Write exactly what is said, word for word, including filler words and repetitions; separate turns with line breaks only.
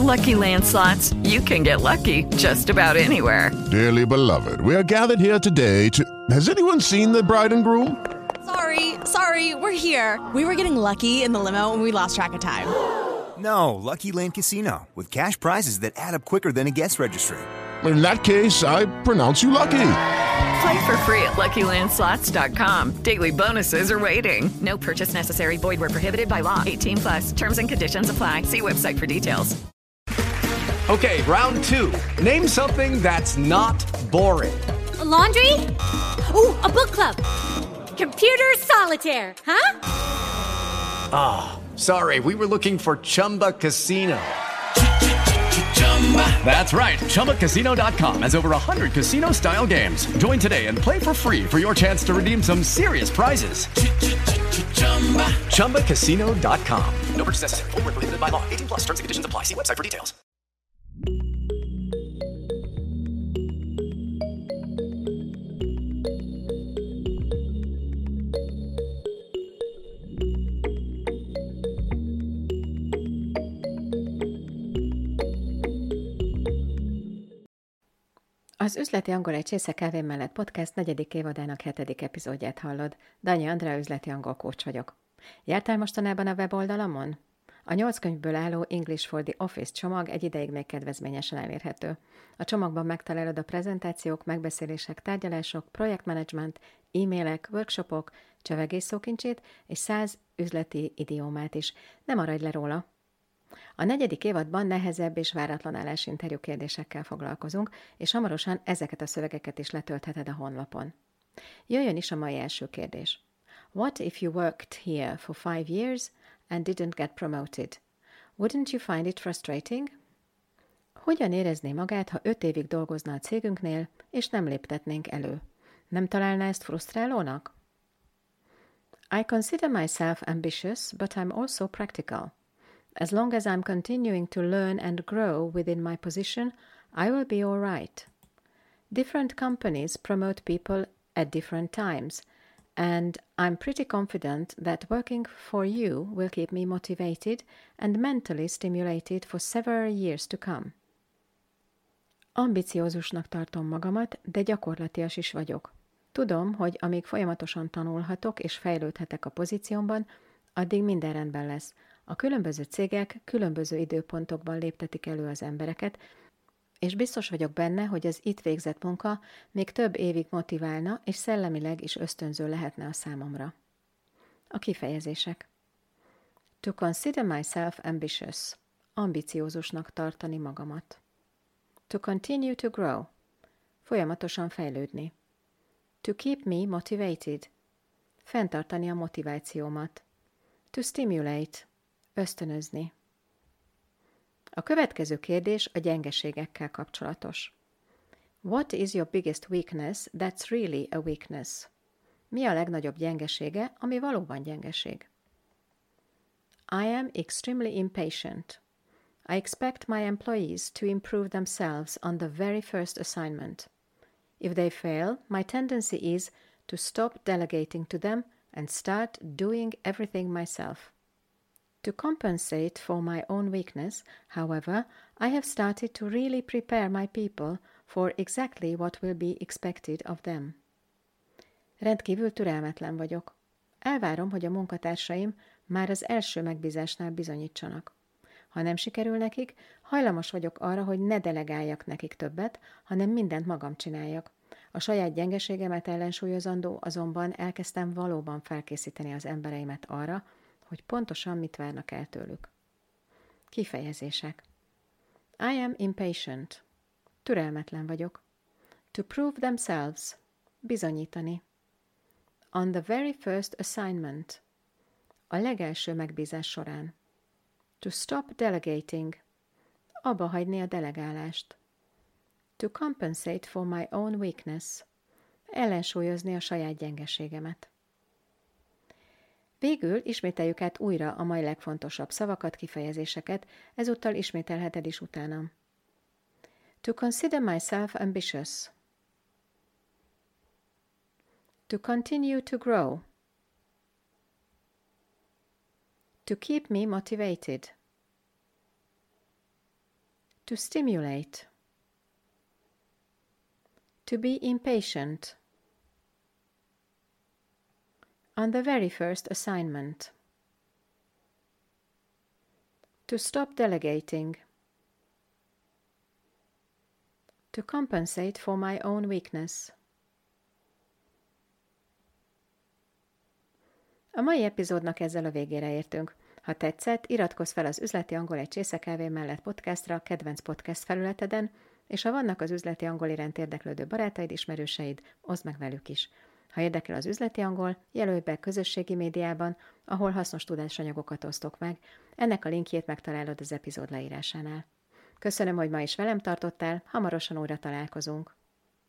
Lucky Land Slots, you can get lucky just about anywhere.
Dearly beloved, we are gathered here today to... Has anyone seen the bride and groom?
Sorry, sorry, we're here. We were getting lucky in the limo and we lost track of time.
No, Lucky Land Casino, with cash prizes that add up quicker than a guest registry.
In that case, I pronounce you lucky.
Play for free at Lucky Land Slots dot com. Daily bonuses are waiting. No purchase necessary. Void where prohibited by law. eighteen plus. Terms and conditions apply. See website for details.
Okay, round two. Name something that's not boring.
A laundry? Ooh, a book club. Computer solitaire, huh?
Ah, oh, sorry. We were looking for Chumba Casino. That's right. Chumba Casino dot com has over one hundred casino-style games. Join today and play for free for your chance to redeem some serious prizes. Chumba Casino dot com. No purchase necessary. Void where prohibited by law. eighteen plus. Terms and conditions apply. See website for details.
Az Üzleti Angol egy csésze kávé mellett podcast negyedik évadának hetedik epizódját hallod. Danyi Andrea üzleti angol coach vagyok. Jártál mostanában a weboldalamon? A nyolc könyvből álló English for the Office csomag egy ideig még kedvezményesen elérhető. A csomagban megtalálod a prezentációk, megbeszélések, tárgyalások, projektmenedzsment, e-mailek, workshopok, csevegés szókincsét és száz üzleti idiómát is. Ne maradj le róla! A negyedik évadban nehezebb és váratlan állásinterjú kérdésekkel foglalkozunk, és hamarosan ezeket a szövegeket is letöltheted a honlapon. Jöjjön is a mai első kérdés. What if you worked here for five years and didn't get promoted? Wouldn't you find it frustrating? Hogyan érezné magát, ha öt évig dolgozna a cégünknél, és nem léptetnénk elő? Nem találná ezt frusztrálónak? I consider myself ambitious, but I'm also practical. As long as I'm continuing to learn and grow within my position, I will be all right. Different companies promote people at different times, and I'm pretty confident that working for you will keep me motivated and mentally stimulated for several years to come. Ambiciózusnak tartom magamat, de gyakorlatias is vagyok. Tudom, hogy amíg folyamatosan tanulhatok és fejlődhetek a pozíciómban, addig minden rendben lesz. A különböző cégek különböző időpontokban léptetik elő az embereket, és biztos vagyok benne, hogy az itt végzett munka még több évig motiválna, és szellemileg is ösztönző lehetne a számomra. A kifejezések. To consider myself ambitious. Ambiciózusnak tartani magamat. To continue to grow. Folyamatosan fejlődni. To keep me motivated. Fenntartani a motivációmat. To stimulate. Ösztönözni. A következő kérdés a gyengeségekkel kapcsolatos. What is your biggest weakness that's really a weakness? Mi a legnagyobb gyengesége, ami valóban gyengeség? I am extremely impatient. I expect my employees to improve themselves on the very first assignment. If they fail, my tendency is to stop delegating to them and start doing everything myself. To compensate for my own weakness, however, I have started to really prepare my people for exactly what will be expected of them. Rendkívül türelmetlen vagyok. Elvárom, hogy a munkatársaim már az első megbízásnál bizonyítsanak. Ha nem sikerül nekik, hajlamos vagyok arra, hogy ne delegáljak nekik többet, hanem mindent magam csináljak. A saját gyengeségemet ellensúlyozandó, azonban elkezdtem valóban felkészíteni az embereimet arra, hogy pontosan mit várnak el tőlük. Kifejezések. I am impatient. Türelmetlen vagyok. To prove themselves. Bizonyítani. On the very first assignment. A legelső megbízás során. To stop delegating. Abba hagyni a delegálást. To compensate for my own weakness. Ellensúlyozni a saját gyengeségemet. Végül ismételjük át újra a mai legfontosabb szavakat, kifejezéseket, ezúttal ismételheted is utánam. To consider myself ambitious. To continue to grow. To keep me motivated. To stimulate. To be impatient. On the very first assignment. To stop delegating. To compensate for my own weakness. A mai epizódnak ezzel a végére értünk. Ha tetszett, iratkozz fel az Üzleti Angol egy Csészekávé mellett podcastra a kedvenc podcast felületeden, és ha vannak az üzleti angol iránt érdeklődő barátaid, ismerőseid, oszd meg velük is. Ha érdekel az üzleti angol, jelölj be közösségi médiában, ahol hasznos tudásanyagokat osztok meg. Ennek a linkjét megtalálod az epizód leírásánál. Köszönöm, hogy ma is velem tartottál, hamarosan újra találkozunk.